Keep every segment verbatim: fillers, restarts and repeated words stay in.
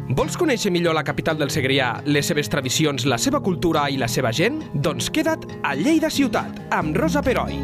Vols conèixer millor la capital del Segrià, les seves tradicions, la seva cultura i la seva gent? Doncs queda't a Lleida Ciutat, amb Rosa Peroi.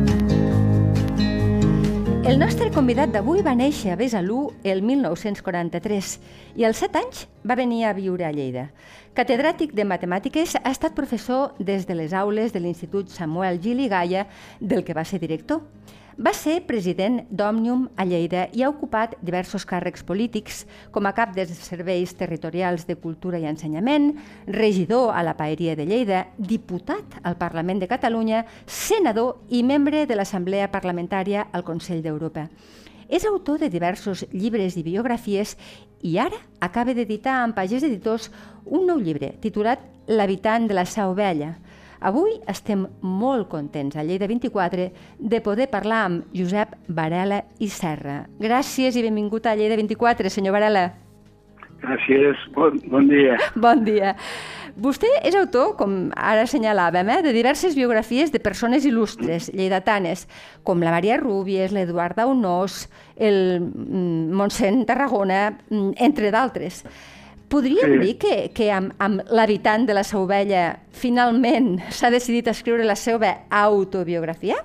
El nostre convidat d'avui va néixer a Besalú el mil nou-cents quaranta-tres i als set anys va venir a viure a Lleida. Catedràtic de matemàtiques, ha estat professor des de les aules de l'Institut Samuel Gil i Gaya, del que va ser director. Va ser president d'Òmnium a Lleida i ha ocupat diversos càrrecs polítics, com a cap dels serveis territorials de cultura i ensenyament, regidor a la Paeria de Lleida, diputat al Parlament de Catalunya, senador i membre de l'Assemblea Parlamentària al Consell d'Europa. És autor de diversos llibres i biografies i ara acaba d'editar amb Pagès Editors un nou llibre titulat L'habitant de la Seu Vella. Avui estem molt contents a Lleida vint-i-quatre de poder parlar amb Josep Varela i Serra. Gràcies i benvingut a Lleida vint-i-quatre, senyor Varela. Gràcies, bon, bon dia. Bon dia. Vostè és autor, com ara assenyalàvem, eh, de diverses biografies de persones il·lustres, lleidatanes, com la Maria Rúbies, l'Eduard Daunós, el Montseny Tarragona, entre d'altres. Podríem sí. dir que, que amb, amb l'habitant de la Seu Vella finalment s'ha decidit a escriure la seva autobiografia?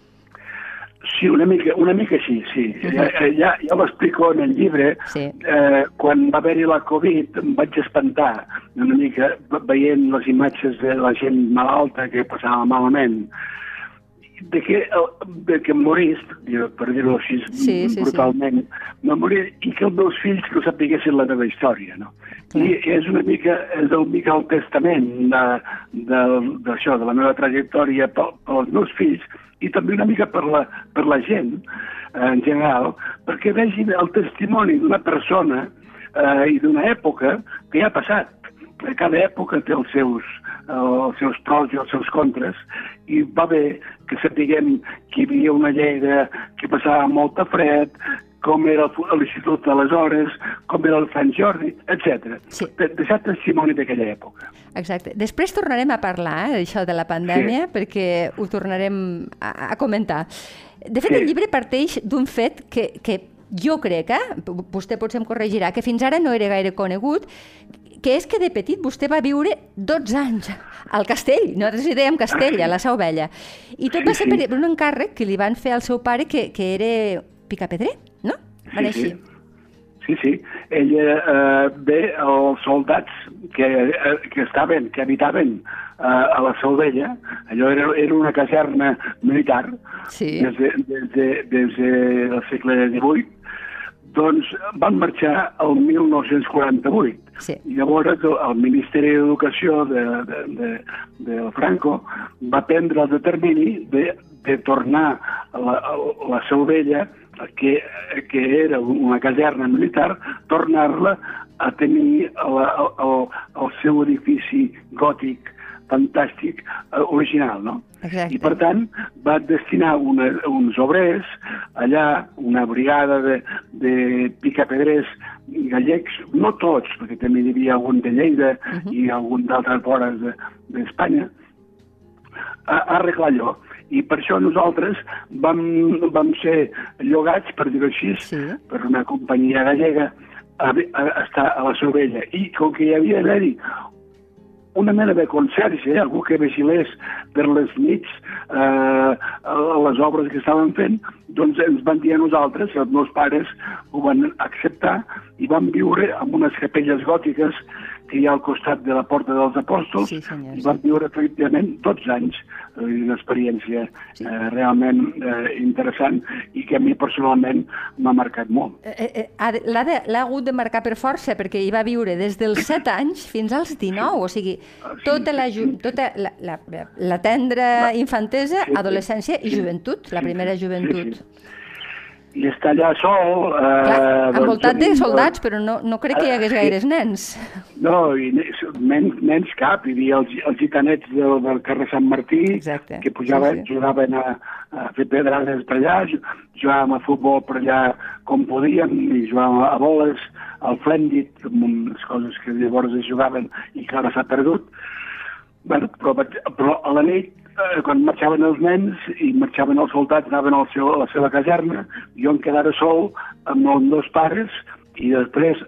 Sí, una mica, una mica sí, sí. Uh -huh. ja, ja, ja ho explico en el llibre. Sí. Eh, quan va haver-hi la Covid em vaig espantar una mica veient les imatges de la gent malalta que passava malament. De que, de que em morís, per dir-ho així sí, sí, brutalment, sí. me morir i que els meus fills no sapiguessin la meva història, no? Clar. I és una mica, és una mica el testament d'això, de, de, de la meva trajectòria pels meus fills i també una mica per la, per la gent en general, perquè vegin el testimoni d'una persona eh, i d'una època que ja ha passat. Cada època té els seus, els seus pros i els seus contres, i va bé que sapiguem que hi havia una Lleida que passava molta fred, com era l'Institut d'aleshores, com era el Sant Jordi, etcètera. Sí. Deixar testimoni d'aquella època. Exacte. Després tornarem a parlar eh, d'això de la pandèmia, sí. perquè ho tornarem a, a comentar. De fet, sí. el llibre parteix d'un fet que, que jo crec, eh, vostè potser em corregirà, que fins ara no era gaire conegut, que és que de petit vostè va viure dotze anys al castell, nosaltres hi dèiem castell, a la Seu Vella, i tot va ser per un encàrrec que li van fer al seu pare, que, que era picapedrer, no? Va sí, sí. sí, sí. Ella, eh, bé, els soldats que, eh, que estaven, que habitaven eh, a la Seu Vella, allò era, era una caserna militar, sí. des, de, des, de, des del segle divuit, doncs van marxar el mil nou-cents quaranta-vuit. Sí. I llavors el Ministeri d'Educació de, de, de, de Franco va prendre el determini de, de tornar a la, a la Seu Vella, que, que era una caserna militar, tornar-la a tenir el, el, el seu edifici gòtic fantàstic, original, no? Exacte. I, per tant, va destinar una, uns obrers allà, una brigada de, de picapedrers gallecs, no tots, perquè també hi havia algun de Lleida uh -huh. i algun d'altres vores d'Espanya, a, a arreglar allò. I per això nosaltres vam, vam ser llogats, per dir-ho així, sí. per una companyia gallega a, a estar a la Seu Vella. I com que hi havia d'haver-hi una mena de conserge, algú que vigilés per les nits eh, les obres que estaven fent, doncs ens van dir a nosaltres, els meus pares ho van acceptar i van viure en unes capelles gòtiques que hi ha al costat de la Porta dels Apòstols, sí, senyor, i van viure efectivament dotze anys, una experiència sí. eh, realment eh, interessant i que a mi personalment m'ha marcat molt. Eh, eh, l'ha hagut de marcar per força, perquè hi va viure des dels set anys fins als dinou, o sigui, tota la, tota la, la, la tendra infantesa, sí, adolescència i joventut, la primera joventut. Sí, sí. I està allà sol... Eh, Clar, envoltat doncs, de soldats, però no, no crec que hi hagués gaires nens. No, i nens, nens cap. Hi havia els, els gitanets del, del carrer Sant Martí, exacte, que pujaven, sí, sí. jugaven a, a fer pedrades per allà, jugàvem a futbol per allà com podíem, i jugàvem a boles, al flèndid, unes coses que llavors es jugaven i que ara s'ha perdut. Bueno, però, però a la nit, eh, quan marxaven els nens i marxaven els soldats, anaven al seu, a la seva caserna, jo em quedava sol amb els meus pares i després,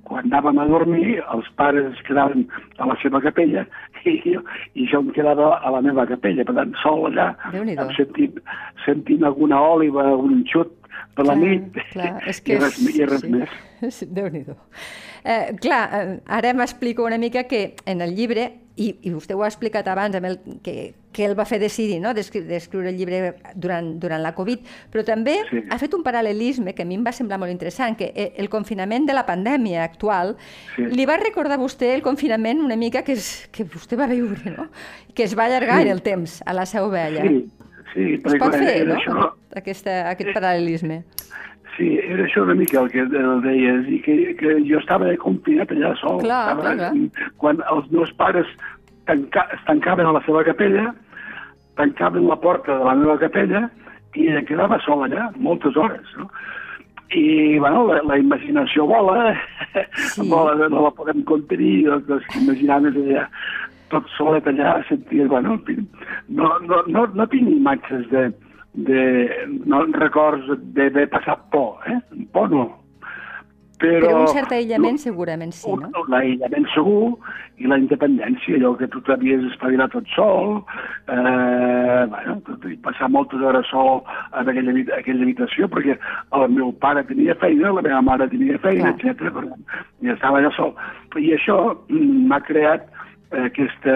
quan anàvem a dormir, els pares es quedaven a la seva capella i jo, i jo em quedava a la meva capella. Per tant, sol allà, sentint, sentint alguna òliva, un xut per la nit, clar, és que i res, i res sí. més. Déu-n'hi-do. Eh, clar, ara m'explico una mica que en el llibre, i, i vostè ho ha explicat abans, amb el, que, que el va fer decidir, no?, d'escriure el llibre durant, durant la Covid, però també sí. ha fet un paral·lelisme que a mi em va semblar molt interessant, que el confinament de la pandèmia actual sí. li va recordar a vostè el confinament una mica que, és, que vostè va viure, no?, que es va allargar sí. en el temps a la Seu Vella. Sí, sí. Es pot fer, no?, això... Aquesta, aquest paral·lelisme. Sí, era això una mica el que el deies, i que, que jo estava confinat allà sol. Clar, estava, clar. Quan els meus pares tanca, es tancaven a la seva capella, tancaven la porta de la meva capella i em quedava sol allà, moltes hores, no? I, bueno, la, la imaginació vola, sí. vola, no la podem contenir, doncs imaginaves allà tot solet allà, senties, bueno, no, no, no, no tinc imatges de de no records d'haver passat por, eh? Por no. Però, Però un cert aïllament no, segurament sí, no? L'aïllament segur i la independència, allò que tu t'havies espavilat tot sol, eh, bueno, passar moltes hores sol en aquella, aquella habitació, perquè el meu pare tenia feina, la meva mare tenia feina, etcètera. I estava allà sol. I això m'ha creat eh, aquesta...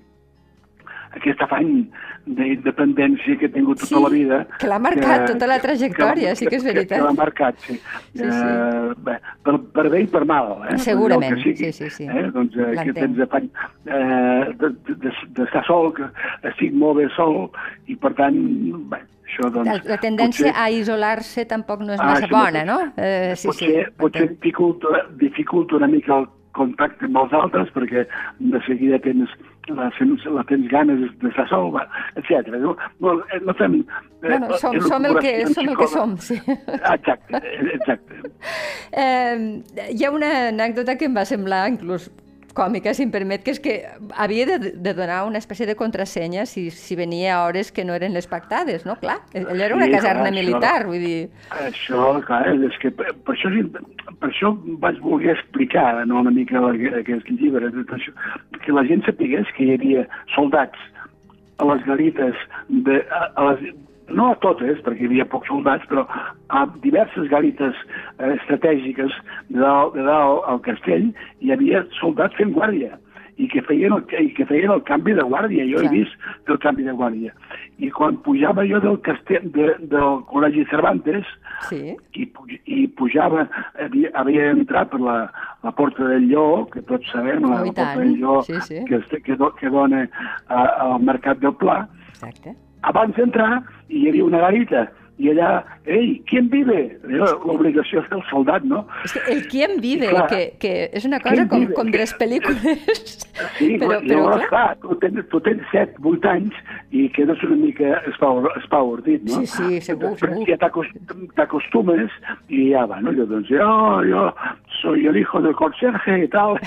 aquest afany d'independència que he tingut tota sí, la vida. Que l'ha marcat que, tota la trajectòria, que, sí que és veritat. Que, que l'ha marcat, sí. sí, sí. Uh, bé, per, per bé i per mal. Eh? Segurament, sigui, sí, sí, sí. Eh? Doncs eh, que tens afany eh, d'estar sol, que estic molt bé sol, i per tant, bé, això doncs... La, la tendència potser... a isolar-se tampoc no és massa ah, bona, no? Eh, sí, potser sí, potser dificulta, dificulta una mica el contacte amb els altres, perquè de seguida tens la, la tens ganes d'estar sol, etcètera. No, no, no fem... Bueno, som, eh, som, el que, som el que som, sí. Exacte, exacte. Eh, hi ha una anècdota que em va semblar inclús còmica, si em permet, que és que havia de, de donar una espècie de contrasenya si, si venia a hores que no eren les pactades, no? Clar, allò era una sí, caserna clar, militar, això, vull dir... Això, clar, és que per, per, això, per això vaig voler explicar no, una mica aquest llibre, això, que la gent sapigués que hi havia soldats a les garites, de, a, a les, no a totes, perquè hi havia pocs soldats, però a diverses garites eh, estratègiques de dalt, de dalt al castell hi havia soldats fent guàrdia i que feien el, i que feien el canvi de guàrdia. Jo sí. he vist el canvi de guàrdia. I quan pujava jo del castell, de, del Col·legi Cervantes, sí. i, i pujava, havia, havia entrat per la, la Porta del Lleó, que tots sabem, la, oh, la Porta del Lleó, sí, sí. que, que, que dona a, al Mercat del Pla. Exacte. Abans d'entrar hi havia una garita i allà, ei, ¿quién vive? L'obligació del soldat, no? És que el ¿quién vive? Clar, que, que és una cosa com, com de les pel·lícules. Sí, però, però llavors, clar, tu tens, tu tens set, vuit anys i quedes una mica espaordit, no? Sí, sí, segur, Després segur. Ja t'acostumes i ja va, no? Jo, doncs, jo, jo soy el hijo del conserje i tal,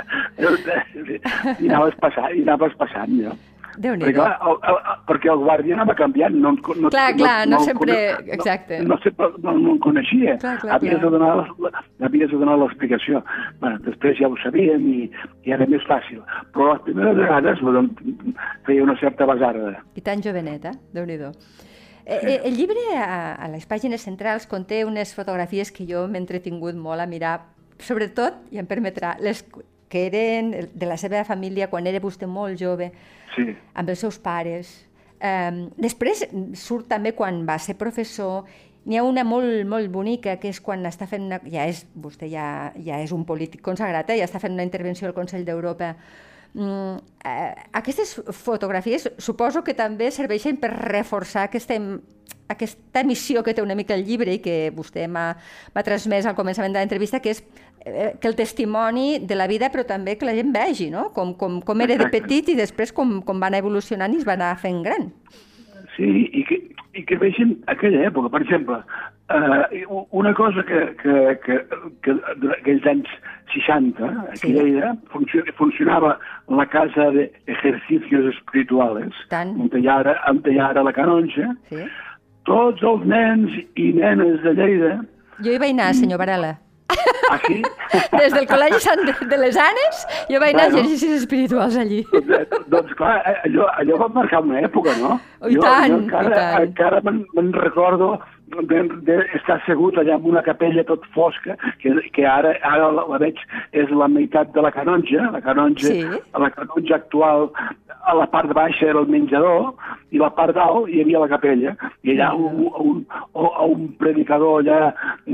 i anaves passant, i anaves passant, jo. Déu-n'hi-do. Perquè, clar, el, el, perquè el guàrdia anava canviant. No, no, clar, clar, no, no sempre... No, exacte. No, no, sempre, no, no en coneixia. Clar, clar, havies, clar. De donar, havies de donar l'explicació. Bueno, després ja ho sabíem i, i era més fàcil. Però les primeres vegades doncs, feia una certa basarda. I tan jovenet, eh? Déu-n'hi-do. Eh, eh, el llibre, a, a les pàgines centrals, conté unes fotografies que jo m'he entretingut molt a mirar, sobretot, i em permetrà, les que eren de la seva família quan era vostè molt jove, sí. amb els seus pares. Um, després surt també quan va ser professor. N'hi ha una molt, molt bonica, que és quan està fent una... Ja és, vostè ja, ja és un polític consagrat, eh? Ja està fent una intervenció al Consell d'Europa. Mm, eh, aquestes fotografies suposo que també serveixen per reforçar aquesta, aquesta missió que té una mica el llibre i que vostè m'ha transmès al començament de l'entrevista, que és eh, que el testimoni de la vida, però també que la gent vegi, no? Com, com, com era de petit i després com, com va anar evolucionant i es va anar fent gran. Sí, i que, i que vegin aquella època. Per exemple, eh, una cosa que, que, que, que aquells anys seixanta, aquí sí. Lleida, funcionava la casa d'ejercicios espirituals, on hi ha ara, on hi ha ara la canonja. Sí. Tots els nens i nenes de Lleida... Jo hi vaig anar, senyor Varela. Ah, sí? Des del Col·legi Sant de les Anes jo vaig anar a exercicis espirituals allí. Doncs, doncs clar, allò, allò va marcar una època, no? I tant, jo, jo encara, i tant. encara me'n me recordo d'estar assegut allà en una capella tot fosca, que, que ara, ara la, la veig és la meitat de la canonja, la canonja, sí. la canonja actual, a la part de baixa era el menjador i la part dalt hi havia la capella, i allà un, un, un, un predicador allà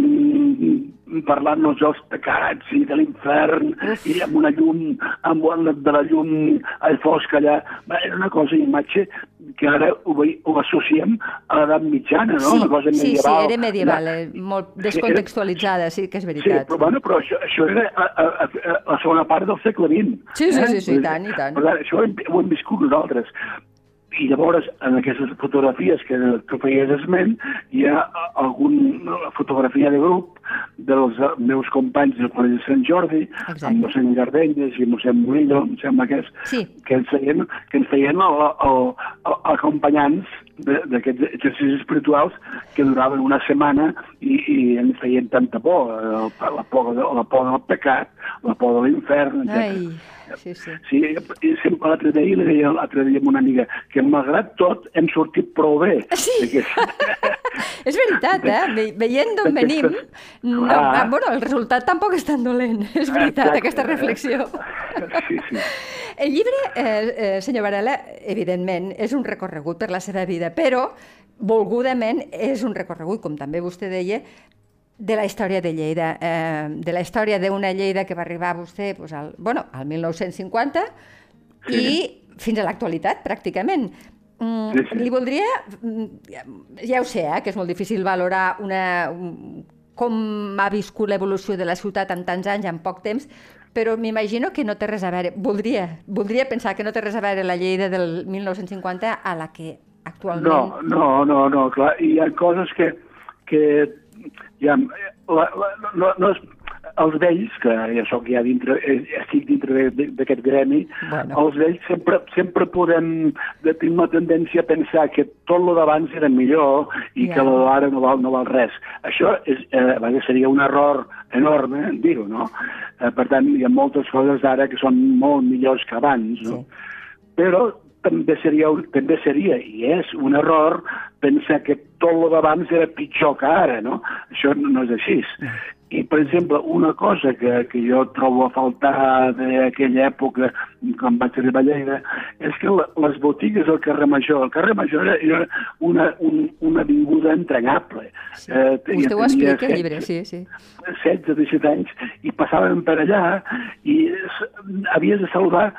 mm, parlant-nos dels pecats i de l'infern i amb una llum, amb una de la llum al fosc allà. Era una cosa, imatge que ara ho, ho associem a l'edat mitjana, no? Sí, una cosa medieval. Sí, sí, era medieval, eh? Molt descontextualitzada, sí que és veritat. Sí, però, bueno, però això, això era a, a, a, a la segona part del segle vint. Sí, sí, eh? sí, sí, i tant, i tant. Per tant, això ho hem, ho hem viscut nosaltres. I llavors, en aquestes fotografies que tu feies esment, hi ha alguna fotografia de grup dels meus companys del Col·legi de Sant Jordi, exacte, amb mossèn Gardenyes i mossèn Murillo, em sembla que és, sí, que ens feien, que ens feien el, el, el, acompanyants d'aquests exercicis espirituals que duraven una setmana i, i ens feien tanta por, la por, la por del pecat, la por de l'infern, etcètera. Sí, sí. Sí, i sempre l'altre dia li deia l'altre dia amb una amiga que malgrat tot hem sortit prou bé. Sí, és veritat, eh? Ve veient d'on venim, no, ah, bueno, el resultat tampoc és tan dolent, és veritat, exacte, aquesta reflexió. Sí, sí. El llibre, eh, eh, senyor Varela, evidentment, és un recorregut per la seva vida, però volgudament és un recorregut, com també vostè deia, de la història de Lleida, eh, de la història d'una Lleida que va arribar a vostè pues, al, bueno, al mil nou-cents cinquanta sí, i fins a l'actualitat, pràcticament. Mm, sí, sí. Li voldria, ja ho sé, eh, que és molt difícil valorar una, un, com ha viscut l'evolució de la ciutat en tants anys, en poc temps, però m'imagino que no té res a veure, voldria, voldria pensar que no té res a veure la Lleida del mil nou-cents cinquanta a la que actualment... No, no, no, no, clar, hi ha coses que... que ja, la, la, no, no és, els vells, que ja soc ja dintre, estic dintre d'aquest gremi, bueno, els vells sempre, sempre podem tenir una tendència a pensar que tot lo d'abans era millor i yeah, que lo d'ara no val, no val res. Això és, eh, seria un error enorme, dir-ho, no? Eh, per tant, hi ha moltes coses d'ara que són molt millors que abans, no? Sí. Però també seria, també seria, i és un error, pensar que tot el d'abans era pitjor que ara, no? Això no és així. I, per exemple, una cosa que, que jo trobo a faltar d'aquella època, quan vaig arribar a Lleida, és que la, les botigues al carrer Major, el carrer Major era, era una, un, una avinguda entranyable. Sí. Eh, Vostè ho explica al llibre, sí, sí. setze, disset anys, i passàvem per allà i havies de saludar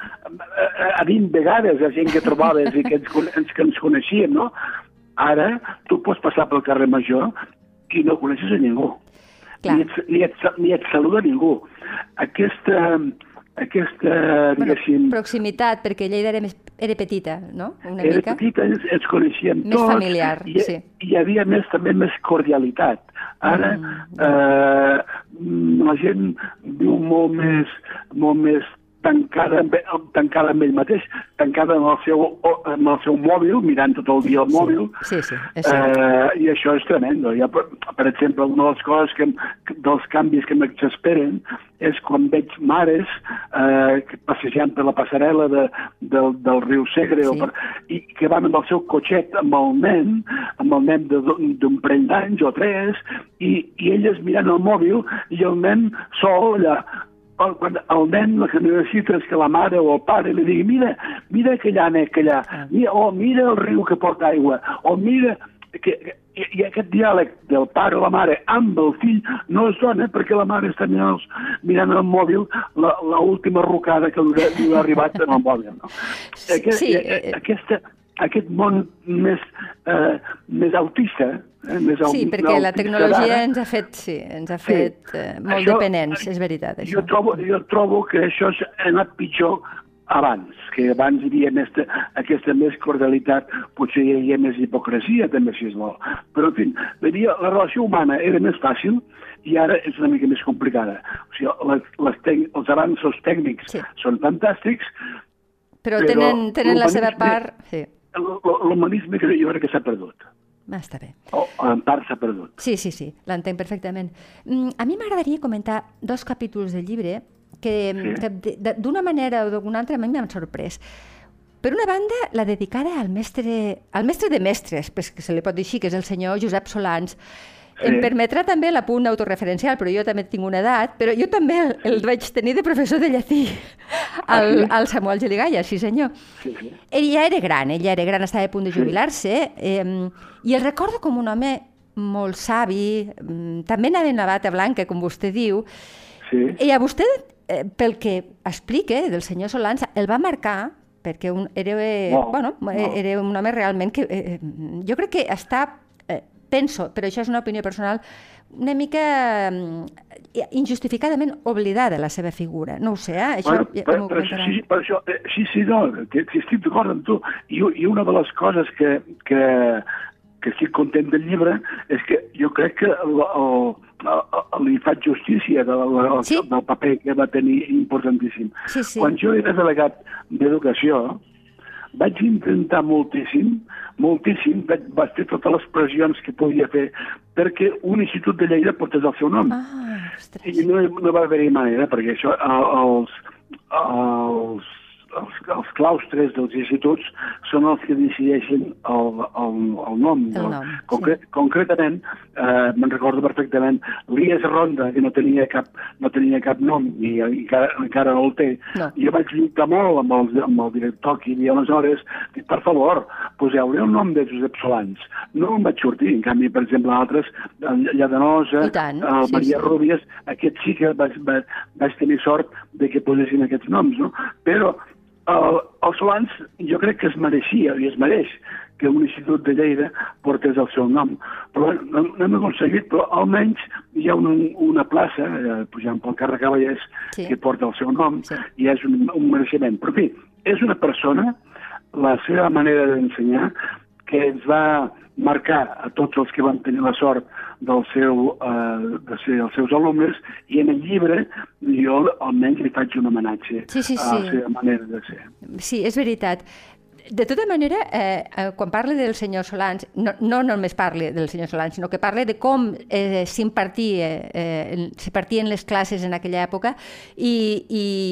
a vint vegades a gent que trobaves i que ens, que ens coneixíem, no? Ara tu pots passar pel carrer Major i no coneixes a ningú. Ni et, ni, et, ni et saluda ningú. Aquesta, aquesta bueno, proximitat, perquè Lleida era, més, era petita, no? Una era mica. petita, ens, ens coneixíem més tots. Més familiar, i, sí. I hi havia més, també més cordialitat. Ara mm, eh, la gent viu molt més, molt més tancada, tancada amb ell mateix, tancada amb el seu, amb el seu mòbil, mirant tot el dia el mòbil, sí, sí, sí, és cert. Eh, i això és tremendo. Ja, per, per exemple, una de les coses que, dels canvis que m'exasperen és quan veig mares eh, passejant per la passarel·la de, del, del riu Segre, sí, o per, i que van amb el seu cotxet amb el nen, amb el nen d'un parell d'anys o tres, i, i elles mirant el mòbil i el nen sol allà. Quan el nen el que necessita és que la mare o el pare li digui mira, mira aquell ànec allà, mira, o mira el riu que porta aigua, o mira... Que, i, i aquest diàleg del pare o la mare amb el fill no es dona perquè la mare està mirant, els, mirant el mòbil l'última rucada que li, li ha arribat en el mòbil. No? Aquest, sí, eh, aquesta, aquest món més, eh, més autista... Eh, més sí, perquè la tecnologia ens ha fet, sí, ens ha fet sí, eh, molt això, dependents, és veritat. Això. Jo, trobo, jo trobo que això ha anat pitjor abans, que abans hi havia més, aquesta més cordialitat, potser hi havia més hipocresia, també, si es vol. Però, en fi, la, la relació humana era més fàcil i ara és una mica més complicada. O sigui, les, les tec, els avanços tècnics sí, són fantàstics, però, però tenen, tenen la seva part... Sí. L'humanisme jo crec que s'ha perdut. Ah, està bé. O en part s'ha perdut. Sí, sí, sí, l'entenc perfectament. A mi m'agradaria comentar dos capítols del llibre que, sí. que d'una manera o d'alguna altra a mi m'han sorprès. Per una banda, la dedicada al mestre, al mestre de mestres, que se li pot dir així, que és el senyor Josep Solans. Sí. Em permetrà també l'apunt autorreferencial, però jo també tinc una edat, però jo també el, el vaig tenir de professor de llatí, al, ah, sí? al Samuel Geligalla, sí senyor. Sí, sí. Ell ja era gran, ell ja era gran, estava a punt de jubilar-se, eh, i el recordo com un home molt savi, també anava en la bata blanca, com vostè diu, sí. I a vostè, eh, pel que explica del senyor Solans, el va marcar perquè un, era, no, bueno, no. era un home realment que eh, jo crec que està, eh, penso, però això és una opinió personal, una mica eh, injustificadament oblidada la seva figura. No ho sé, eh? Això bueno, ja, per, per, sí, per això, eh, sí, sí, no, que, que estic d'acord amb tu. I, I una de les coses que, que, que estic content del llibre és que jo crec que el, el, el, li faig justícia del, del, sí? del paper que va tenir importantíssim. Sí, sí. Quan jo era delegat d'Educació, vaig intentar moltíssim, moltíssim, vaig, vaig fer totes les pressions que podia fer perquè un institut de Lleida portés el seu nom. Ah, I no, no va haver-hi manera, perquè això, els, els, els, els claustres dels instituts són els que decideixen el, el, el nom. El nom Concre sí. Concretament, eh, me'n recordo perfectament, l'Ies Ronda, que no tenia cap, no tenia cap nom, i encara, encara no el té. No. Jo vaig lluitar molt amb el, amb el director que hi havia aleshores, dic, per favor, poseu-li el nom de Josep Solans. No em vaig sortir, en canvi, per exemple, altres, Lladenosa, el sí, Maria sí. Rúbies, aquests sí que vaig, vaig, vaig tenir sort de que posessin aquests noms, no? Però el, el Solans jo crec que es mereixia i es mereix que un institut de Lleida portés el seu nom. Però no, no hem aconseguit, però almenys hi ha una, una plaça, eh, pujant pel carrer Cavallers, sí. que porta el seu nom, sí. i és un, un mereixement. Però, en fi, és una persona, la seva manera d'ensenyar, que ens va marcar a tots els que van tenir la sort del seu, eh, de ser els seus alumnes, i en el llibre jo almenys li faig un homenatge sí, sí, sí. a la seva manera de ser. Sí, és veritat. De tota manera, eh, quan parle del senyor Solans, no, no només parle del senyor Solans, sinó que parle de com eh, s'impartia, eh, s'impartien les classes en aquella època, i,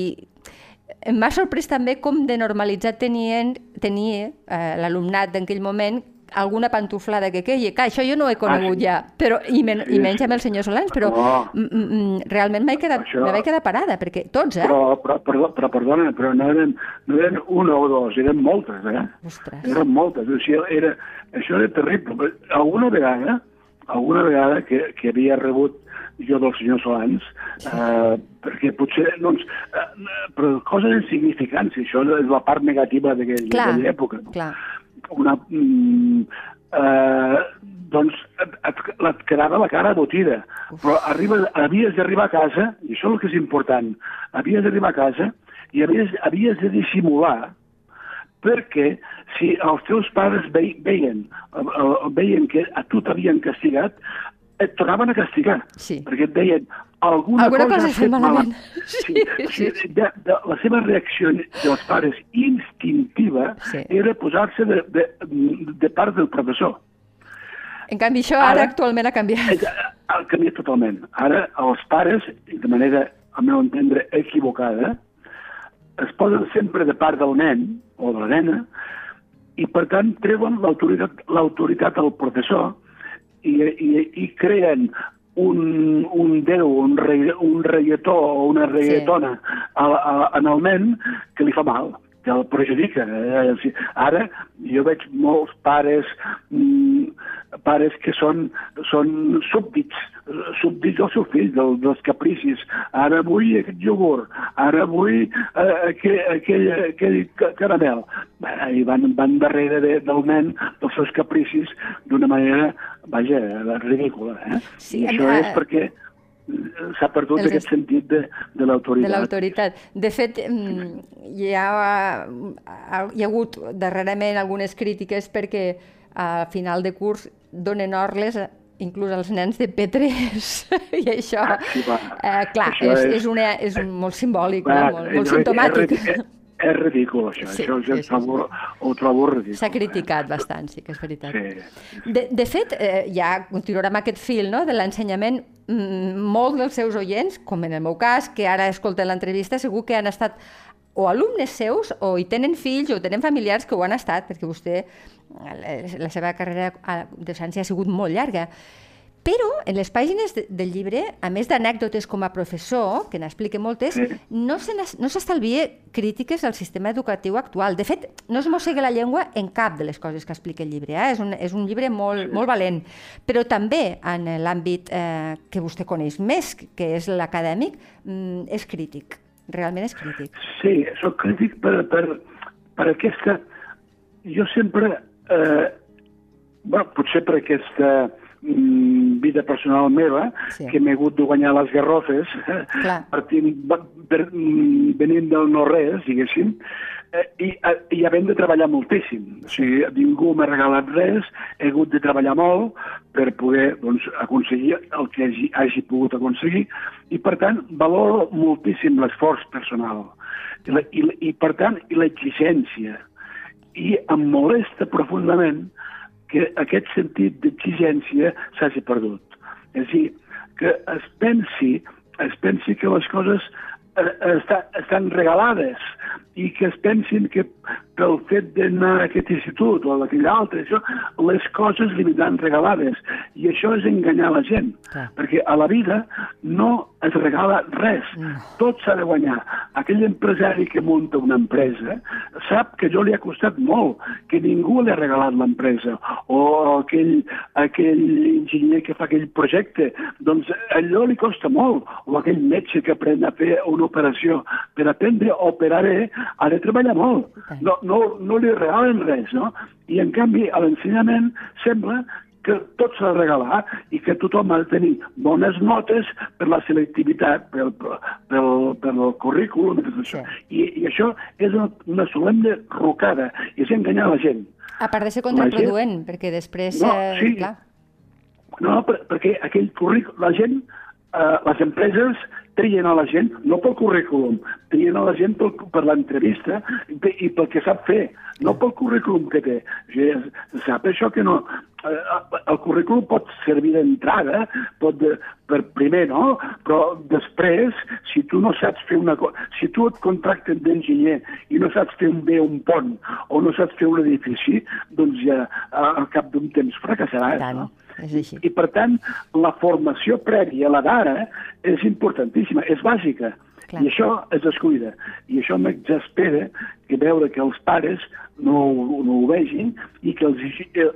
i m'ha sorprès també com de normalitzat tenien, tenia eh, l'alumnat d'aquell moment alguna pantuflada que queia. Clar, això jo no ho he conegut ah, sí. ja, però, i, men, sí, i menys amb el senyor Solans, però oh. m realment m'he quedat, això... quedat parada, perquè tots, eh? Però, però, però, però perdona, però no eren, no eren una o dos, eren moltes, eh? Ostres. Eren moltes, o sigui, era, això era terrible. Alguna vegada, alguna vegada que, que havia rebut jo del senyor Solans, eh, perquè potser, doncs, eh, però coses insignificants, i això és la part negativa d'aquella època. Clar, una, mm, eh, doncs et, et, et quedava la cara botida. Uf. Però arriba, havies d'arribar a casa, i això és el que és important, havies d'arribar a casa i havies, havies de dissimular, perquè si els teus pares ve, veien, veien que a tu t'havien castigat, et tornaven a castigar, sí. perquè et deien alguna, alguna cosa, cosa has fet malament. Sí, sí, sí, sí. De, de, la seva reacció dels pares instintiva sí. era posar-se de, de, de part del professor. En canvi, això ara, ara actualment ha canviat. Ha canviat totalment. Ara els pares, de manera, al meu entendre, equivocada, es posen sempre de part del nen o de la nena i, per tant, treuen l'autoritat l'autoritat del professor i, i, i creen un, un déu, un, rei, un reietó o una reietona sí. a, a, en el nen que li fa mal, que el perjudica. Eh? Ara jo veig molts pares, mm, pares que són, són súbdits, súbdits dels seus fills, del, dels capricis. Ara vull aquest iogurt, ara vull eh, aquell, aquell, aquell caramel. I van, van darrere de, del nen, dels seus capricis, d'una manera, vaja, ridícula. Eh? Sí, I això uh, és perquè s'ha perdut aquest es... sentit de, de l'autoritat. De l'autoritat. De fet, hi ha, hi ha hagut darrerament algunes crítiques perquè a final de curs donen orles inclús als nens de P tres. I això, ah, sí, eh, clar, això és, és, una, és molt simbòlic, va, no? molt, molt és, simptomàtic. És, és ridícul, això. Sí, això sí, sí, sí, trobo, sí. Ho trobo ridícul. S'ha criticat eh? bastant, sí que és veritat. Sí. De, de fet, eh, ja continuarà amb aquest fil, no?, de l'ensenyament. Mm, molts dels seus oients, com en el meu cas, que ara escolten l'entrevista, segur que han estat o alumnes seus, o hi tenen fills, o tenen familiars que ho han estat, perquè vostè, la seva carrera de docència ha sigut molt llarga. Però en les pàgines de, del llibre, a més d'anècdotes com a professor, que n'explica moltes, sí. no s'estalvia crítiques al sistema educatiu actual. De fet, no es mossega la llengua en cap de les coses que explica el llibre. Eh? És, un, és un llibre molt, sí. molt valent. Però també en l'àmbit eh, que vostè coneix més, que és l'acadèmic, mm, és crític. Realment és crític. Sí, soc crític per, per, per aquesta... Jo sempre... Eh, bueno, potser per aquesta... vida personal meva, sí. que m'he hagut de guanyar les garrofes, partint, per, venint del no-res, diguéssim, eh, i, i havent de treballar moltíssim. O sigui, ningú m'ha regalat res, he hagut de treballar molt per poder doncs, aconseguir el que hagi, hagi pogut aconseguir, i per tant valoro moltíssim l'esforç personal. I, la, i, i per tant, i l'exigència. I em molesta profundament que aquest sentit d'exigència s'hagi perdut. És a dir, que es pensi, es pensi que les coses eh, està, estan regalades i que es pensin que pel fet d'anar a aquest institut o a aquell altre, això, les coses li vindran regalades. I això és enganyar la gent, ah. perquè a la vida no es regala res. Mm. Tot s'ha de guanyar. Aquell empresari que munta una empresa sap que allò li ha costat molt, que ningú li ha regalat l'empresa. O aquell, aquell enginyer que fa aquell projecte, doncs allò li costa molt. O aquell metge que aprèn a fer una operació. Per aprendre a operar bé, ha de treballar molt. No, no, no li regalen res, no? I en canvi, a l'ensenyament sembla que tot s'ha de regalar i que tothom ha de tenir bones notes per la selectivitat, pel, pel, pel currículum, i tot això. Sí. I, I això és una, una solemne rocada, i és enganyar la gent. A part de ser contraproduent, gent... perquè després... No, eh, sí. Clar. No, per, perquè aquell currículum, la gent, eh, les empreses trien a la gent, no pel currículum, trien a la gent pel, per l'entrevista i, i pel que sap fer, no pel currículum que té. O sigui, sap això que no... El currículum pot servir d'entrada, pot de, per primer, no? Però després, si tu no saps fer una cosa... Si tu et contracten d'enginyer i no saps fer un bé un pont o no saps fer un edifici, doncs ja al cap d'un temps fracassaràs, no? És així. I, per tant, la formació prèvia, la d'ara, és importantíssima, és bàsica. Clar. I això es descuida. I això m'exaspera que veure que els pares no, no ho vegin i que els,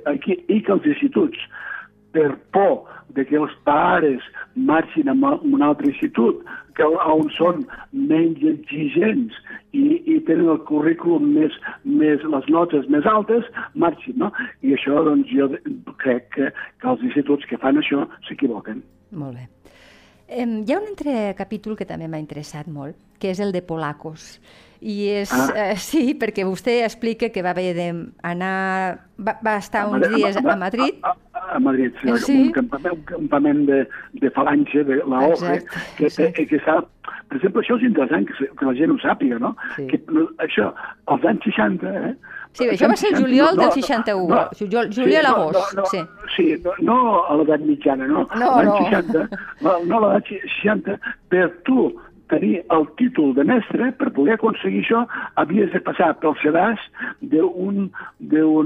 i que els instituts, per por de que els pares marxin a un altre institut, que on són menys exigents i, i tenen el currículum més, més, les notes més altes, marxin, no? I això, doncs, jo crec que, que els instituts que fan això s'equivoquen. Molt bé. Eh, hi ha un altre capítol que també m'ha interessat molt, que és el de Polacos. I és, ah. eh, sí, perquè vostè explica que va haver d'anar... Va, va estar uns dies a Madrid... A, a, a Madrid, sí, sí. Un campament, un campament de, de falange, de la O G, que, que, que s'ha... Per exemple, això és interessant, que, que la gent ho sàpiga, no? Sí. Que això, als anys seixanta... Eh, sí, això va ser el juliol no, del seixanta-u, no, juliol, juliol sí, agost. No, no, sí, sí no, no a l'edat mitjana, no. No, l'any no. seixanta, no, no a l'edat seixanta, per tu tenir el títol de mestre, per poder aconseguir això, havies de passar pel sedàs d'un, d'un,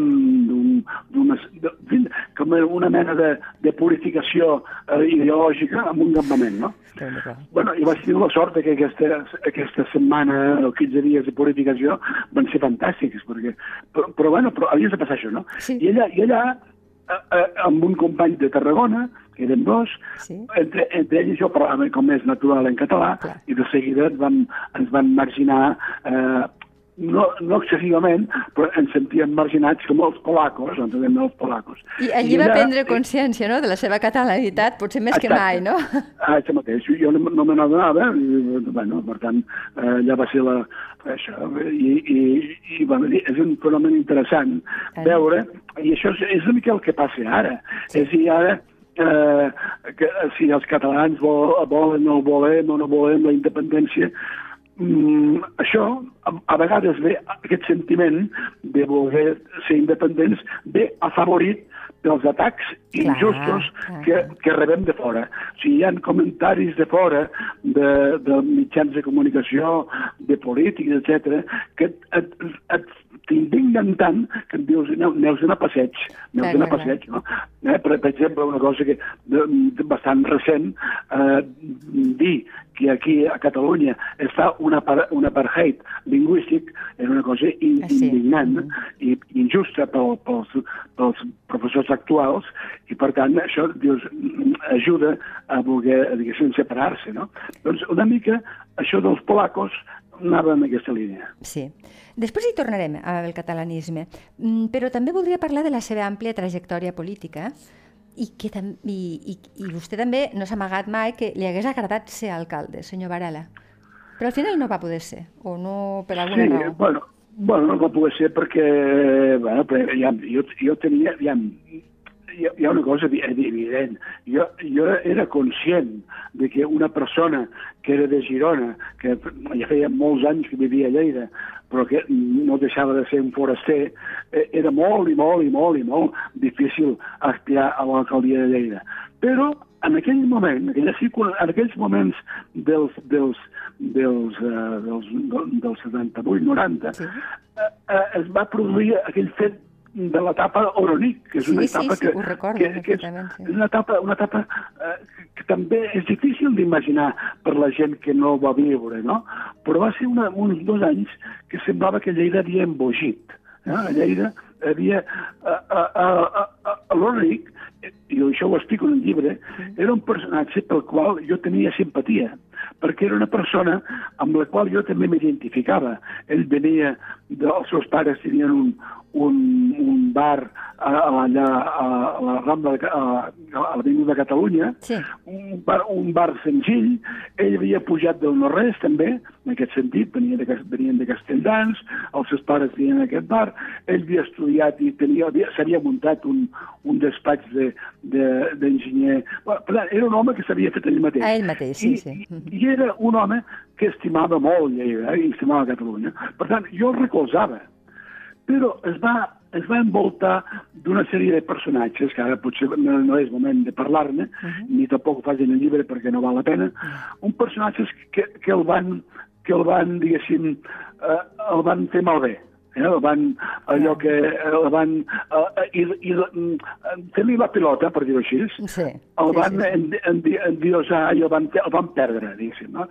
d'un, com una mena de, de purificació eh, ideològica amb un campament, no? Bueno, i vaig tenir la sort que aquesta, aquesta setmana o quinze dies de purificació van ser fantàstics, perquè, però, però, bueno, però havies de passar això, no? Sí. I allà, i allà eh, eh, amb un company de Tarragona, que eren dos, sí. entre, entre ells jo parlava com és natural en català, clar. I de seguida ens van, ens van marginar, eh, no, no excessivament, però ens sentíem marginats com els polacos, ens dèiem els polacos. I allí I va allà, prendre consciència, no?, de la seva catalanitat, potser més exacte. Que mai, no? Ah, això mateix, jo no, no me n'adonava, i, bueno, per tant, eh, allà va ser la... Això, i, i, i bueno, és un fenomen interessant ah. veure, i això és, és una mica el que passa ara. Sí. És a dir, ara, Eh, que si els catalans vol, volen o volem o no volem la independència, mm, això, a, a vegades ve aquest sentiment de voler ser independents, ve afavorit pels atacs Clar, injustos clar, que, clar. que rebem de fora. O sigui, hi ha comentaris de fora, de, de mitjans de comunicació, de polítics, etcètera, que et, et, et t'indignen tant que em dius, aneu a passeig, aneu a passeig, no? Eh, per, per exemple, una cosa que de, de bastant recent, eh, dir que aquí a Catalunya està un apartheid lingüístic és una cosa in, sí. indignant mm. i injusta pel, pels, pels professors actuals i, per tant, això dius, ajuda a voler, diguéssim, separar-se, no? Doncs una mica això dels polacos anava en aquesta línia. Sí. Després hi tornarem al catalanisme, però també voldria parlar de la seva àmplia trajectòria política i, que tam i, i, i vostè també no s'ha amagat mai que li hagués agradat ser alcalde, senyor Varela. Però al final no va poder ser, o no per alguna sí, raó. Bueno, bueno, no va poder ser perquè bueno, ja, jo, jo tenia... Ja, hi ha una cosa evident. Jo, jo era conscient de que una persona que era de Girona, que ja feia molts anys que vivia a Lleida, però que no deixava de ser un foraster, era molt i molt i molt i molt difícil aspirar a l'alcaldia de Lleida. Però en aquell moment, en aquells moments dels, dels, dels, uh, dels, dels setanta-vuit noranta, sí. uh, uh, es va produir aquell fet de l'etapa Oronic, que és una sí, etapa sí, que, sí, recordo, que, que és sí. una etapa, una etapa eh, que també és difícil d'imaginar per la gent que no va viure, no? Però va ser una, uns dos anys que semblava que Lleida havia embogit. Eh? A Lleida havia... A, a, a, a, a l'Oronic, i això ho explico en el llibre, era un personatge pel qual jo tenia simpatia, perquè era una persona amb la qual jo també m'identificava. Ell venia, de, els seus pares tenien un, un, un bar a, a, allà a, a la Rambla, a, a l'Avinguda de Catalunya, sí. un, bar, un bar senzill. Ell havia pujat del no-res també, en aquest sentit, venia de, venien de Castelldans, els seus pares tenien aquest bar, ell havia estudiat i s'havia muntat un, un despatx d'enginyer. De, bueno, per tant, era un home que s'havia fet ell mateix. A ell mateix, sí, I, sí. I, I era un home que estimava molt Lleida, eh, i estimava Catalunya. Per tant, jo el recolzava. Però es va, es va envoltar d'una sèrie de personatges, que ara potser no, no és moment de parlar-ne, uh -huh. ni tampoc ho faig en el llibre perquè no val la pena, uh -huh. uns personatges que, que el van, que el van, diguéssim, eh, el van fer malbé. Eh, el van, allò que el van eh, i, i, fer-li la pilota, per dir-ho així, sí, el van sí, sí. endiosar i el van, el van perdre, diguéssim, no?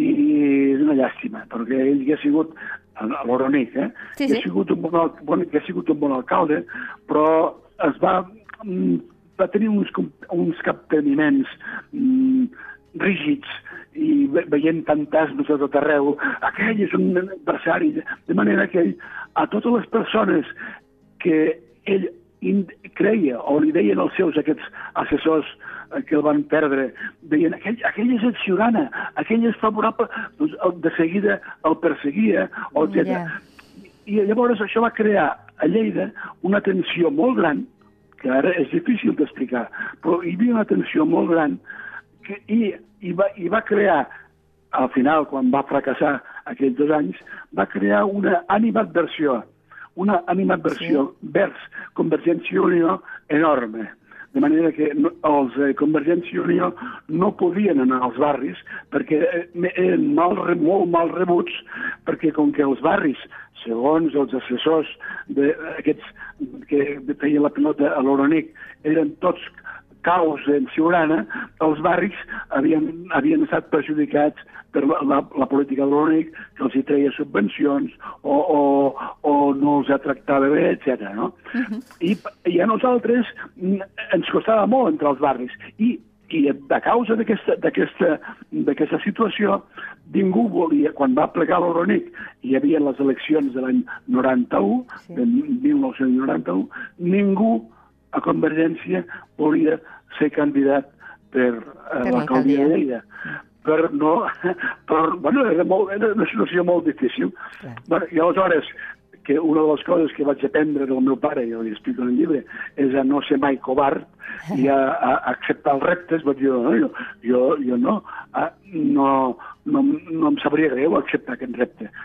I és una llàstima, perquè ell que ha sigut a l'Oronic, eh? Sí, sí. Que ha sigut un bon, bon, que ha sigut un bon alcalde, però es va, va tenir uns, uns capteniments mm, rígids i veient fantasmes a tot arreu. Aquell és un adversari, de manera que ell, a totes les persones que ell creia o li deien els seus aquests assessors que el van perdre, deien aquell, aquell és el Ciurana, aquell és favorable, doncs de seguida el perseguia, etcètera. Yeah. I llavors això va crear a Lleida una tensió molt gran, que ara és difícil d'explicar, però hi havia una tensió molt gran que, i, i, va, i va crear, al final, quan va fracassar aquells dos anys, va crear una animadversió, una animadversió sí. vers Convergència i Unió enorme. De manera que els de Convergència i Unió no podien anar als barris perquè eren mal, molt mal rebuts, perquè com que els barris, segons els assessors d'aquests que feien la pilota a l'Oronic, eren tots caos en Ciurana, els barris havien, havien estat perjudicats per la, la, la política de l'Oronic, que els hi treia subvencions o, o, o no els tractava bé, etcètera. No? Uh-huh. I, I a nosaltres ens costava molt entrar als barris. I, i a causa d'aquesta situació, ningú volia, quan va plegar l'Oronic, hi havia les eleccions de l'any noranta-u, sí. de mil nou-cents noranta-u, ningú a Convergència volia ser candidat per uh, l'alcaldia de Lleida. Per no... Per, bueno, era, molt, era una situació molt difícil. Sí. Bueno, i aleshores, que una de les coses que vaig aprendre del meu pare, i ho explico en el llibre, és a no ser mai covard i a, a acceptar els reptes. Vaig dir, no, jo, jo, jo no, a, no, no, no em sabria greu acceptar aquest repte.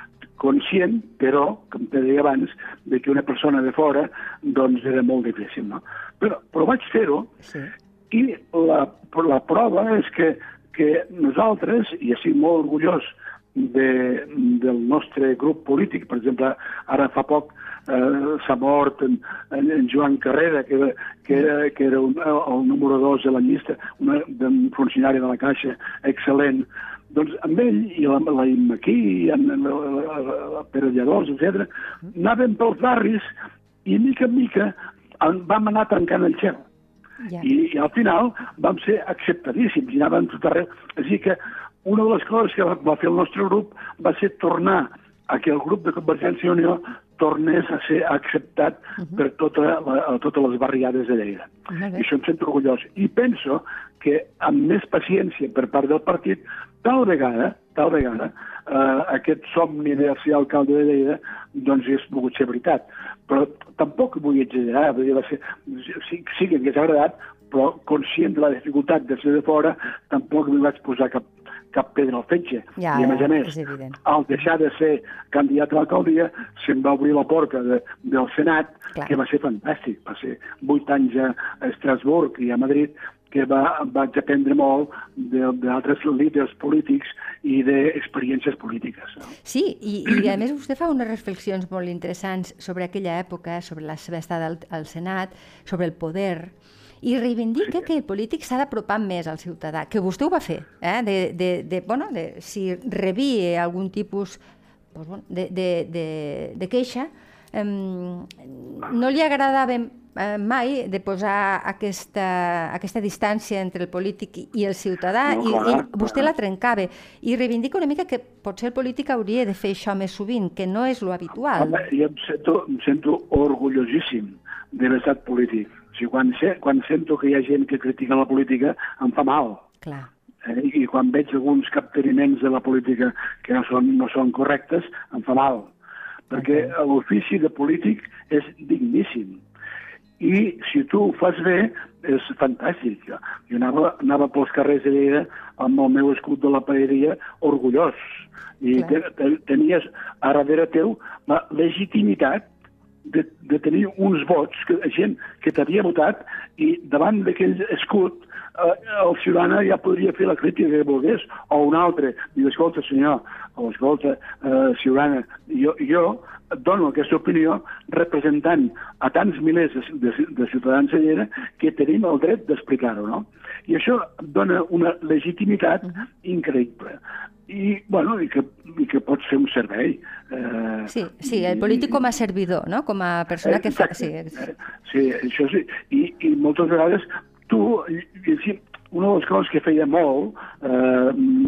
conscient, però, com te deia abans, de que una persona de fora doncs era molt difícil, no? Però, però vaig fer-ho, sí. I la, la prova és que, que nosaltres, i estic molt orgullós de, del nostre grup polític, per exemple, ara fa poc eh, s'ha mort en, en, en Joan Carrera, que, que era, que era un, el número dos de la llista, una, un funcionari de la Caixa excel·lent. Doncs amb ell i la, la Immaquí, i en, en, la, la, la Pere Lladós, etcètera, anàvem pels barris i mica en mica en, vam anar tancant el xel. Yeah. I, I al final vam ser acceptadíssims i anàvem tot arreu. Així que una de les coses que va, va fer el nostre grup va ser tornar a que el grup de Convergència i Unió tornés a ser acceptat uh -huh. per tota la, totes les barriades de Lleida. Uh -huh. I això em sento orgullós. I penso que amb més paciència per part del partit, tal vegada, tal vegada, eh, aquest somni de ser alcalde de Lleida doncs és pogut ser veritat. Però tampoc vull exagerar, vull dir, va ser, sí, sí que hagués agradat, però conscient de la dificultat de ser de fora, tampoc m'hi vaig posar cap, cap pedra al fetge. Ja, I a més a més, al deixar de ser candidat a l'alcaldia, se'm va obrir la porta de, del Senat, clar. Que va ser fantàstic. Va ser vuit anys a Estrasburg i a Madrid, que va, vaig aprendre molt d'altres líders polítics i d'experiències polítiques. No? Sí, i, i a més vostè fa unes reflexions molt interessants sobre aquella època, sobre la seva estada al, al Senat, sobre el poder, i reivindica sí. que el polític s'ha d'apropar més al ciutadà, que vostè ho va fer, eh? de, de, de, bueno, de, si rebia algun tipus pues, bueno, de, de, de, de queixa, eh, no li agradava eh, mai de posar aquesta, aquesta distància entre el polític i el ciutadà, no, i, clar, i vostè clar. la trencava, i reivindica una mica que potser el polític hauria de fer això més sovint, que no és lo habitual. Home, jo em sento, em sento orgullosíssim de l'estat polític. O sigui, quan, sé, quan sento que hi ha gent que critica la política, em fa mal. Clar. Eh? I quan veig alguns capteniments de la política que no són, no són correctes, em fa mal. Perquè okay. l'ofici de polític és digníssim. I si tu ho fas bé, és fantàstic. Jo anava, anava pels carrers de Lleida amb el meu escut de la paeria orgullós. I te, te, tenies a darrere teu la legitimitat De, de tenir uns vots, que, gent que t'havia votat, i davant d'aquell escut eh, el ciutadà ja podria fer la crítica que volgués, o un altre, diu, escolta senyor, o escolta eh, ciutadana, jo, jo dono aquesta opinió representant a tants milers de, de, de ciutadans de Lleida que tenim el dret d'explicar-ho, no? I això dona una legitimitat uh-huh. increïble. I, bueno, i, que, i que pots fer un servei. Eh, sí, sí, el polític com a servidor, no? Com a persona que fa... Sí, sí, això sí. I, i moltes vegades tu, sí, una de les coses que feia molt eh,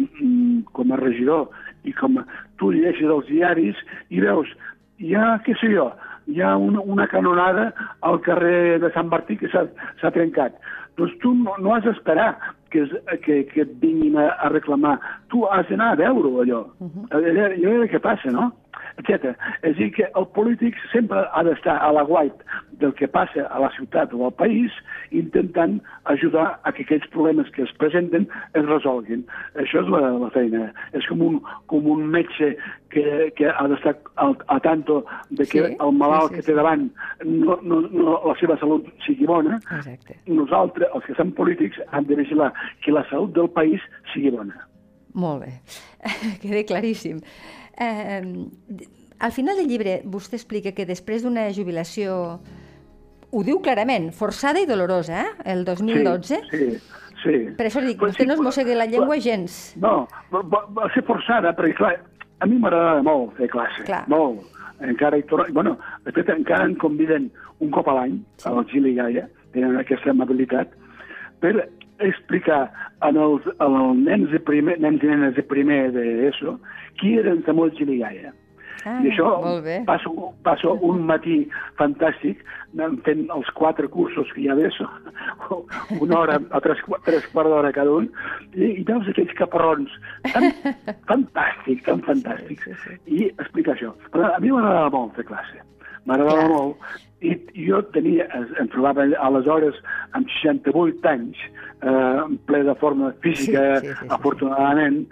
com a regidor i com a, tu llegeixes els diaris i veus, hi ha, què sé jo, hi ha una, una canonada al carrer de Sant Martí que s'ha trencat. Doncs tu no, no has d'esperar que, que, que et vinguin a, a reclamar. Tu has d'anar a veure-ho, allò. Uh-huh. allò. Allò què passa, no? Etcètera. És a dir, que el polític sempre ha d'estar a l'aguait del que passa a la ciutat o al país, intentant ajudar a que aquells problemes que es presenten es resolguin. Això és la, la feina. És com un, com un metge que, que ha d'estar a tanto de que sí, el malalt sí, sí, que té davant no, no, no, la seva salut sigui bona. Exacte. Nosaltres, els que som polítics, hem de vigilar que la salut del país sigui bona. Molt bé. Queda claríssim. Eh, al final del llibre vostè explica que després d'una jubilació, ho diu clarament, forçada i dolorosa, eh? El dos mil dotze. Sí, sí. sí. Per això li dic, vostè sí, no es mossegui la llengua gens. No, va, va ser forçada, perquè clar, a mi m'agradava molt fer classe, clar. molt. Encara hi torno, bueno, de fet encara em conviden un cop a l'any sí. al Gili Gaia, tenen aquesta amabilitat, per explicar als nens, de primer, nens i nenes de primer d'ESO qui eren Samuel Gili Gaia. Ah, I això passo, passo un matí fantàstic fent els quatre cursos que hi ha d'ESO, una hora o tres, tres quarts d'hora cada un, i, i veus aquells caparrons tan fantàstics, tan fantàstics, sí, sí, sí. i explicar això. Però a mi m'agradava molt fer classe, m'agradava molt, i jo tenia, em trobava aleshores amb seixanta-vuit anys, eh, ple de forma física, sí, sí, sí, afortunadament,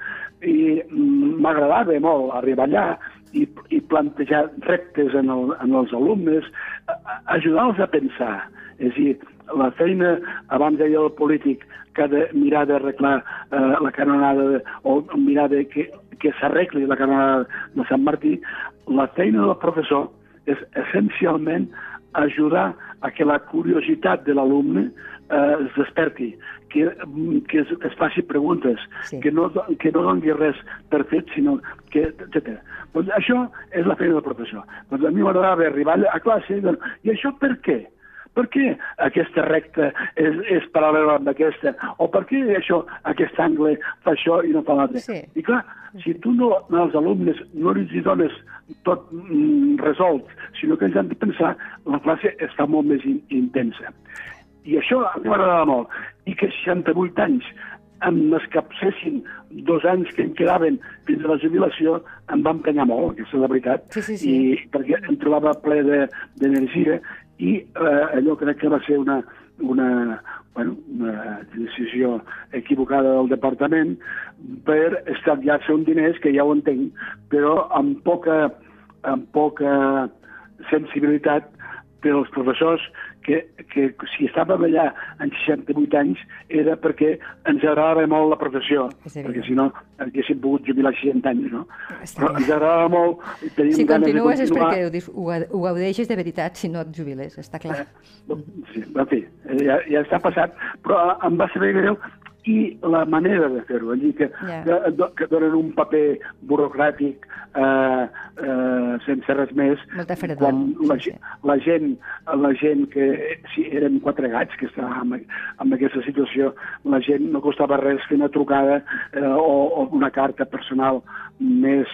i m'agradava molt arribar allà i, i plantejar reptes en, el, en els alumnes, ajudar-los a pensar. És a dir, la feina, abans deia el polític, que ha de mirar d'arreglar eh, la canonada, de, o mirar de que, que s'arregli la canonada de Sant Martí, la feina del professor és essencialment ajudar a que la curiositat de l'alumne eh, es desperti, que, que, es, que es faci preguntes, sí. que, no, que no doni res per fet, sinó que... etcètera. Doncs això és la feina del professor. Doncs a mi m'agradava arribar a classe i dir, i això per què? Per què aquesta recta és, és paral·lela amb aquesta? O per què això, aquest angle fa això i no fa l'altre? Sí. I clar, si tu no, als alumnes no els dones tot mm, resolt, sinó que ells han de pensar, la classe està molt més in, intensa. I això a mi m'agradava molt. I que seixanta-vuit anys em m'escapcessin dos anys que em quedaven fins a la jubilació, em va emprenyar molt, aquesta és la veritat, sí, sí, sí. I perquè em trobava ple d'energia de, i eh, allò crec que va ser una, una, bueno, una decisió equivocada del departament per estalviar-se un diners, que ja ho entenc, però amb poca, amb poca sensibilitat per als professors que, que si estàvem allà en seixanta-vuit anys era perquè ens agradava molt la professió, perquè si no haguéssim pogut jubilar seixanta anys, no? Però ens agradava molt... Si continues és perquè ho, ho gaudeixes de veritat, si no et jubiles, està clar. Eh, sí, en fi, ja, ja està passat, però em va saber greu i la manera de fer-ho, allí que, yeah. que, que donen un paper burocràtic eh, eh, sense res més. Molta fredor. Quan la, sí, sí. la, gent, la gent que si eren quatre gats que estàvem en, en aquesta situació, la gent no costava res fer una trucada eh, o, o una carta personal més,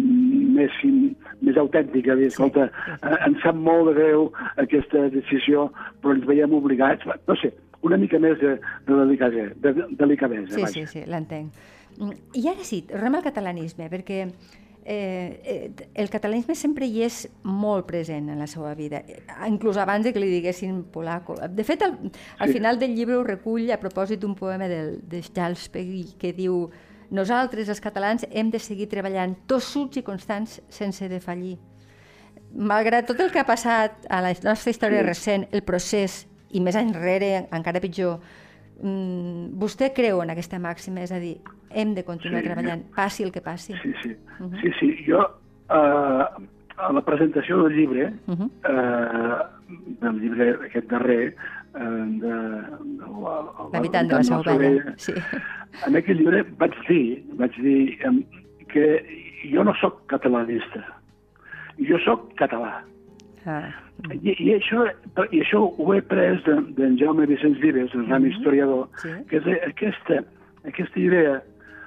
més, més autèntica. Dir, escolta, sí, sí. Eh, ens sap molt de greu aquesta decisió, però ens veiem obligats. No sé, una mica més de, de delicadesa. De, delicadesa sí, sí, sí, l'entenc. I ara sí, tornem al catalanisme, perquè eh, el catalanisme sempre hi és molt present en la seva vida, inclús abans de que li diguessin polaco. De fet, al, al sí. final del llibre ho recull a propòsit d'un poema del, de Charles Peguy que diu: nosaltres, els catalans, hem de seguir treballant tossuts i constants sense defallir. Malgrat tot el que ha passat a la nostra història sí. recent, el procés, i més enrere, encara pitjor, mm, vostè creu en aquesta màxima? És a dir, hem de continuar sí, treballant, jo... passi el que passi. Sí, sí. Uh -huh. sí, sí. Jo, uh, a la presentació del llibre, uh -huh. uh, del llibre aquest darrer, uh, de, de l'habitant de la Seu Vella, sí. En aquest llibre vaig dir, vaig dir um, que jo no sóc catalanista, jo sóc català. Ah. I, i, això, I això ho he pres d'en de, de Jaume Vicenç Vives, el gran mm -hmm. historiador, sí. que és aquesta, aquesta idea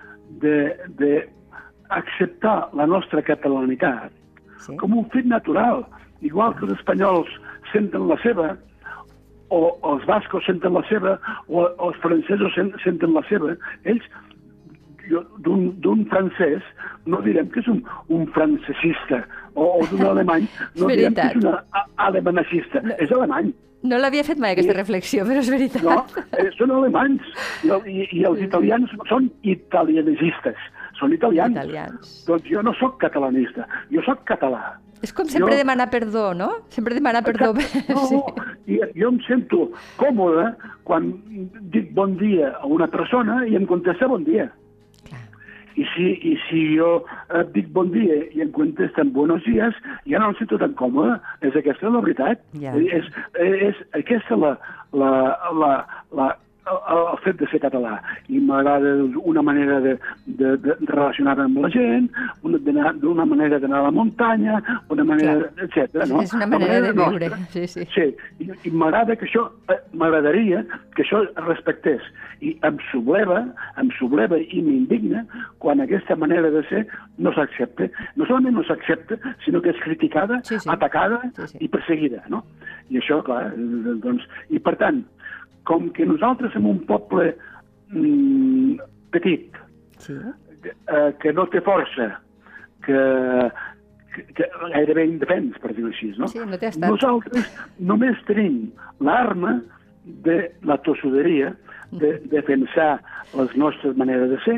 d'acceptar la nostra catalanitat sí. com un fet natural, igual que els espanyols senten la seva, o els bascos senten la seva, o, o els francesos senten la seva. Ells, d'un francès, no direm que és un, un francesista, o, o d'un alemany, no direm que és un alemanacista, no, és alemany. No l'havia fet mai aquesta I, reflexió, però és veritat. No, eh, són alemanys, i, i, i els italians són italianistes, són italians. italians. Doncs jo no sóc catalanista, jo sóc català. És com sempre jo... demanar perdó, no? Sempre demanar perdó. No, sí. I jo em sento còmode quan dic bon dia a una persona i em contesta bon dia. I si, i si jo eh, dic bon dia i em contesten buenos días, ja no em sento tan còmode. És aquesta la veritat. Yeah. És, és aquesta la, la, la, la, el fet de ser català. I m'agrada una manera de, de, de relacionar-me amb la gent, d'una manera d'anar a la muntanya, una manera, etcètera. No? És una manera, manera de viure. Sí, sí. Sí. I, i m'agrada que això, m'agradaria que això es respectés. I em subleva, em subleva i m'indigna quan aquesta manera de ser no s'accepta. No solament no s'accepta, sinó que és criticada, sí, sí. atacada sí, sí. i perseguida. No? I això, clar, doncs... I per tant, com que nosaltres som un poble mm, petit, sí. eh, que no té força, que, que, que gairebé indefens, per dir-ho així, no? Sí, no té estat. Nosaltres només tenim l'arma de la tossuderia, de defensar les nostres maneres de ser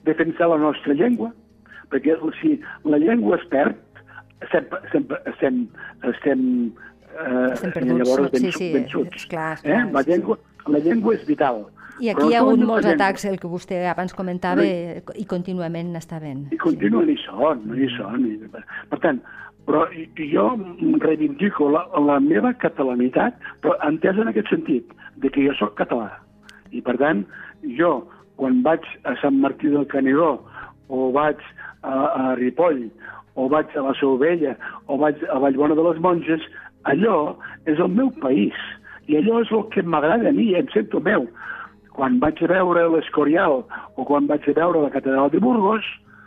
defensar la nostra llengua, perquè si la llengua es perd, estem, estem, estem, estem, eh, estem perduts, llavors ben, sí, sí, vençuts. Clar, eh? clar, la, llengua, la llengua és vital. I aquí hi ha hagut molts atacs, el que vostè abans comentava, i contínuament n'està ben. I continuen, i són, i són. Per tant, però jo reivindico la, la meva catalanitat, però entesa en aquest sentit, de que jo sóc català. I per tant, jo, quan vaig a Sant Martí del Canigó, o vaig a, a Ripoll, o vaig a la Seu Vella, o vaig a Vallbona de les Monges, allò és el meu país. I allò és el que m'agrada a mi, em sento meu. Quan vaig a veure l'Escorial o quan vaig a veure la Catedral de Burgos,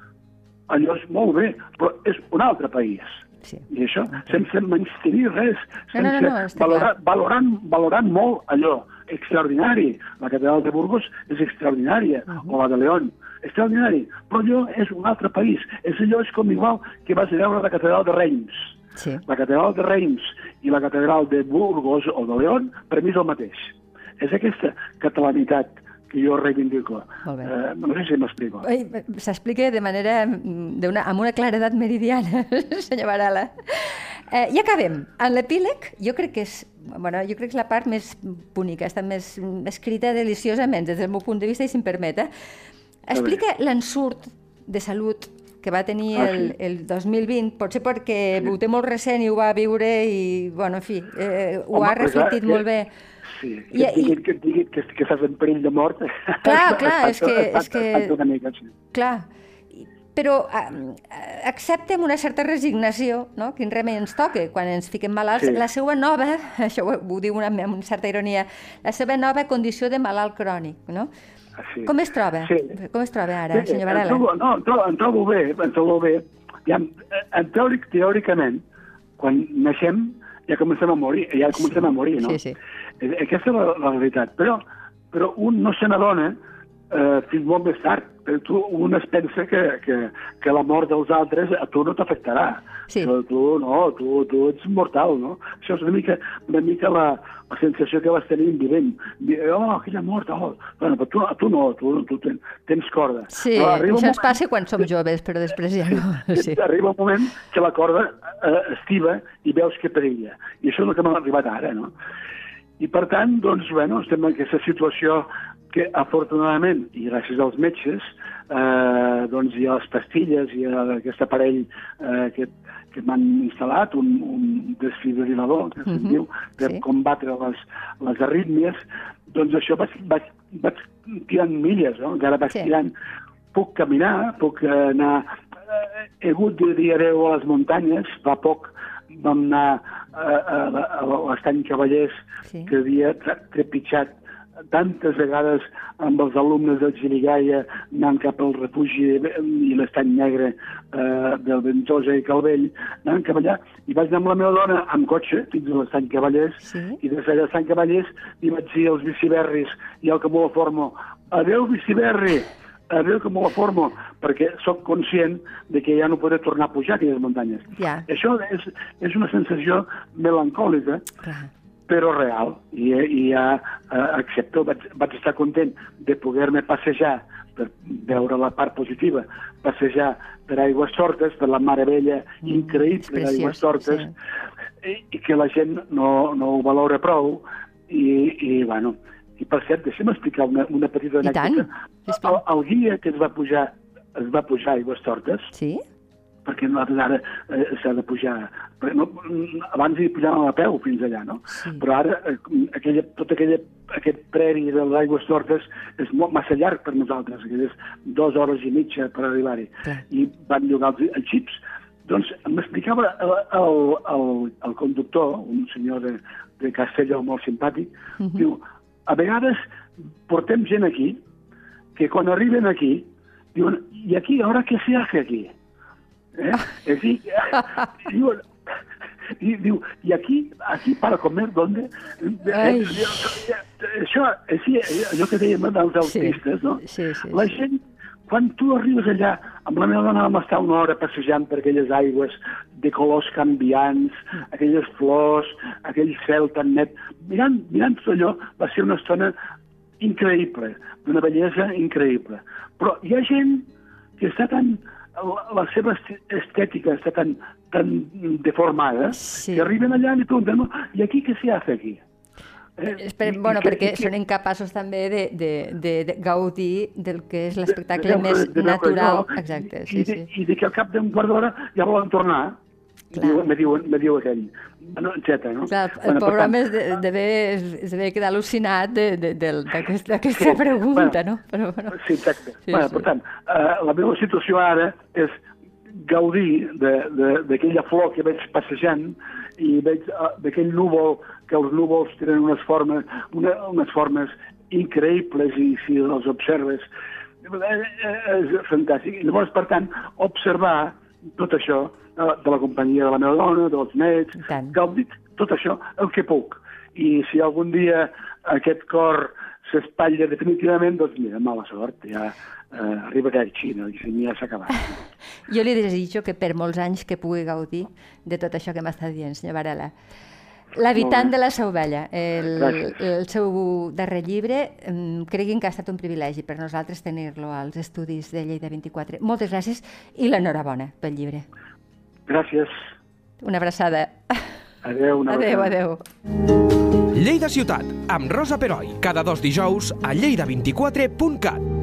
allò és molt bé, però és un altre país. Sí. I això, sense menystenir res, sense no, no, no, valorar, valorant, valorant molt allò, extraordinari. La Catedral de Burgos és extraordinària, uh -huh. o la de León, extraordinari, però allò és un altre país. És allò és com igual que vas a veure la Catedral de Reims. Sí. La Catedral de Reims i la Catedral de Burgos o de León, per mi és el mateix. És aquesta catalanitat que jo reivindico. Molt bé. Eh, no sé si m'explico. S'explica de manera, una, amb una claredat meridiana, senyor Varela. Eh, I acabem. En l'epíleg, jo crec que és, bueno, jo crec que és la part més bonica, està més escrita deliciosament, des del meu punt de vista, i si em permet. Eh? Explica l'ensurt de salut que va tenir ah, el, sí. el dos mil vint, potser perquè sí. ho té molt recent i ho va viure i, bueno, en fi, eh, ho Home, ha reflectit clar, molt que, bé. Sí, que et diguin, que, et diguin que, que estàs en perill de mort. Clar, clar, és que... És que una mica, sí. Clar, però eh, acceptem una certa resignació, no?, quin remei ens toca quan ens fiquem malalts. Sí. La seva nova, això ho, ho diu una, amb una certa ironia, la seva nova condició de malalt crònic, no? Sí. Com es troba? Sí. Com es troba ara, sí, senyor Varela? Em trobo, no, em trobo, em trobo bé, em trobo bé. Ja, en teòric, teòricament, quan naixem, ja comencem a morir, ja comencem sí. a morir, no? Sí, sí. Aquesta és la, la realitat. Però, però un no se n'adona eh, fins molt més tard. Però tu, un es pensa que, que, que la mort dels altres a tu no t'afectarà. Sí. Tu, tu no, tu, tu ets mortal, no? Això és una mica, una mica la, la sensació que vas tenir vivent. Oh, aquella mort, oh. Bueno, però tu, tu no, tu, tu ten, tens corda. Sí, això moment... ens passa quan som joves, però després ja no. Sí. Arriba un moment que la corda eh, estiva i veus que perilla. I això és el que m'ha arribat ara, no? I per tant, doncs, bueno, estem en aquesta situació que, afortunadament, i gràcies als metges, eh, doncs hi ha les pastilles, hi ha aquest aparell eh, que, que m'han instal·lat, un, un desfibrilador, que se'n uh -huh. diu, per sí. combatre les, les arrítmies, doncs això vaig, vaig, vaig tirant milles, no? Encara vaig sí. tirant, puc caminar, puc anar... He hagut de dir adeu a les muntanyes, fa poc vam anar a, a, a l'Estany Cavallers, sí. que havia trepitjat tantes vegades amb els alumnes del Xirigalla anant cap al refugi i l'Estany Negre eh, del Ventosa i Calvell, anant cap allà, i vaig anar amb la meva dona amb cotxe fins a l'Estany Cavallers, sí. i des d'allà l'Estany Cavallers i vaig dir als biciberris i al que m'ho formo, adeu biciberri, adeu que m'ho la formo, perquè sóc conscient de que ja no podré tornar a pujar aquelles muntanyes. Ja. Això és, és una sensació melancòlica, clar. Però real, i, i ja eh, accepto, vaig, vaig estar content de poder-me passejar, per veure la part positiva, passejar per Aigüestortes, per la meravella mm, increïble d'Aigüestortes, sí. i, i que la gent no, no ho valora prou, i, i bueno... I per cert, deixa'm explicar una, una petita anècdota. El, el guia que es va pujar, es va pujar a Aigüestortes, sí? Perquè nosaltres ara eh, s'ha de pujar... No, abans hi pujàvem a peu fins allà, no? Sí. Però ara eh, aquella, tot aquella, aquest preri de l'Aigüestortes és molt, massa llarg per nosaltres, aquelles dues hores i mitja per arribar-hi. I van llogar els, els xips. Doncs m'explicava el, el, el, el conductor, un senyor de, de Castelló molt simpàtic, uh-huh. diu... A vegades portem gent aquí que quan arriben aquí diuen, i aquí, ara què se hace aquí? Eh? És dir, diuen, i diu, i aquí, aquí para comer, ¿dónde? Eh, això, sí, allò que dèiem dels autistes, no? Sí, sí, sí. La gent, quan tu arribes allà, amb la meva dona vam estar una hora passejant per aquelles aigües de colors canviants, aquelles flors, aquell cel tan net, mirant, mirant tot allò, va ser una estona increïble, d'una bellesa increïble. Però hi ha gent que està tan... la seva estètica està tan, tan deformada sí. que arriben allà i pregunten, no, i aquí què s'hi ha de fer aquí? Eh, Espera, i, bueno, i perquè que, són incapaços també de, de, de, de gaudir del que és l'espectacle de, de, més de, de natural. Jo, exacte, sí, i, de, sí. I de que al cap d'un quart d'hora ja volen tornar. Diu, me, diu, me diu aquell, no, etcètera. No? Clar, el bueno, pobre home es deve quedar al·lucinat d'aquesta sí, pregunta, bueno, no? Però, bueno. Sí, exacte. Sí, bueno, sí. Per tant, uh, la meva situació ara és gaudir d'aquella flor que veig passejant i veig uh, d'aquell núvol, que els núvols tenen unes formes, una, unes formes increïbles i si els observes és fantàstic. I llavors, per tant, observar tot això de la companyia de la meva dona, dels nets, gaudir tot això el que puc. I si algun dia aquest cor s'espatlla definitivament, doncs mira, mala sort, ja eh, arriba aquell Xina i ja s'ha acabat. Jo li desitjo que per molts anys que pugui gaudir de tot això que m'està dient, senyor Varela. L'habitant de la Sauvella, el, el seu darrer llibre, creguin que ha estat un privilegi per nosaltres tenir-lo als estudis de Lleida vint-i-quatre. Moltes gràcies i l'enhorabona pel llibre. Gràcies. Una abraçada. Adéu, una adéu, abraçada. Adéu. Lleida Ciutat, amb Rosa Peroi, cada dos dijous a lleida vint quatre punt cat.